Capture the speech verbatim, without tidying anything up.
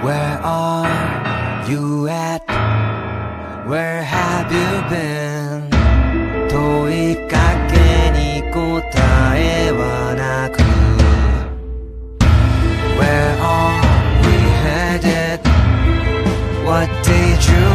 Where are you at? Where have you been? 問いかけに答えはなく Where are we headed? What did you